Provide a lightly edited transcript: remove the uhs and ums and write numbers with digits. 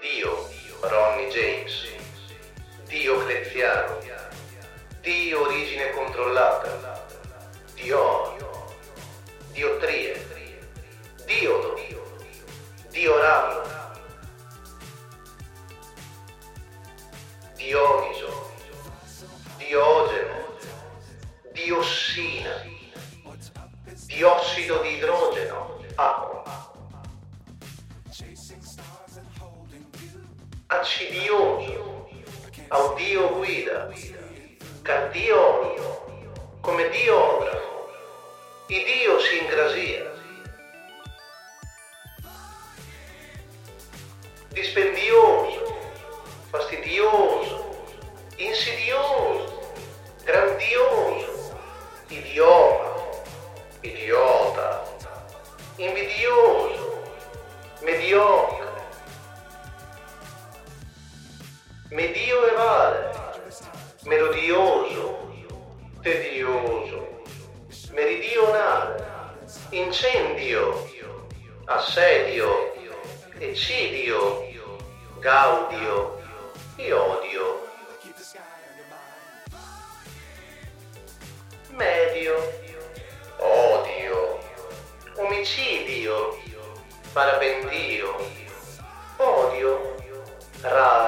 Dio, Ronnie James, Diocleziano, Dio origine controllata, Dio, Diottrie, Diodo, Dioramo, Dioniso, Diogeno, Diossina, diossido di idrogeno, acqua, accidioso, audio guida, cardiologo, come diografo, idiosincrasia, dispendioso, fastidioso, insidioso, grandioso, idioma, idiota, invidioso, mediocre, medioevale, melodioso, tedioso, meridionale, incendio, assedio, eccidio, gaudio, iodio, medio, odio, omicidio, parapendio, odio, rabbia,